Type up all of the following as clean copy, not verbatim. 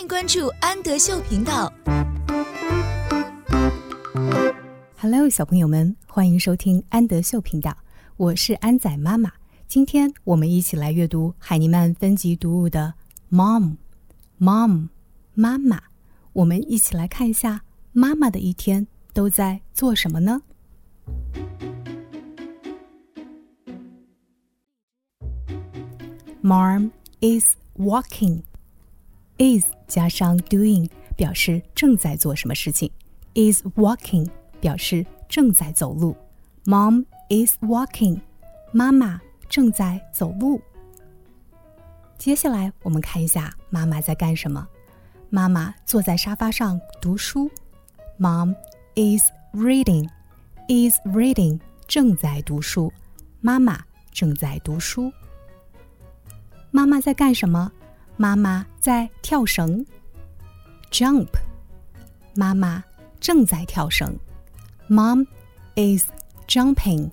关注安德秀频道。 Hello， 小朋友们，欢迎收听安德秀频道，我是安仔妈妈。今天我们一起来阅读海尼曼分级读物的 Mom， 妈妈。我们一起来看一下妈妈的一天都在做什么呢？ Mom is walking。 is 加上 doing 表示正在做什么事情， is walking 表示正在走路。 Mom is walking， 妈妈正在走路。接下来我们看一下妈妈在干什么。妈妈坐在沙发上读书。 Mom is reading， 正在读书，妈妈正在读书。妈妈在干什么？妈妈在跳绳。 Jump， 妈妈正在跳绳。 Mom is jumping。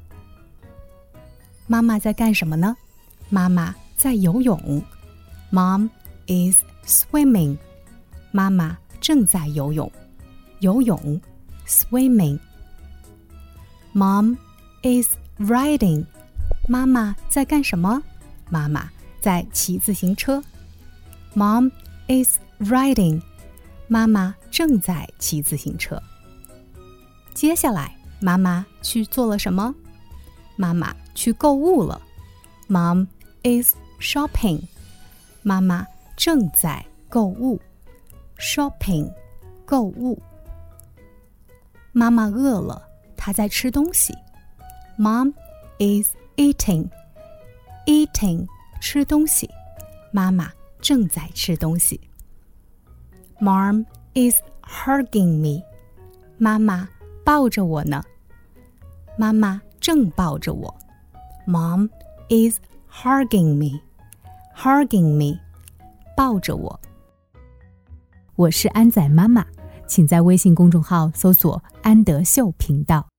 妈妈在干什么呢？妈妈在游泳。 Mom is swimming， 妈妈正在游泳。游泳 swimming。 Mom is riding， 妈妈在干什么？妈妈在骑自行车。 Mom is riding， 妈妈正在骑自行车。接下来妈妈去做了什么？妈妈去购物了。 Mom is shopping， 妈妈正在购物。 Shopping， 购物。妈妈饿了，她在吃东西。 Mom is eating， 吃东西，妈妈正在吃东西。 Mom is hugging me， 妈妈抱着我呢。妈妈正抱着我。 Mom is hugging me， 抱着我。我是安仔妈妈，请在微信公众号搜索安德秀频道。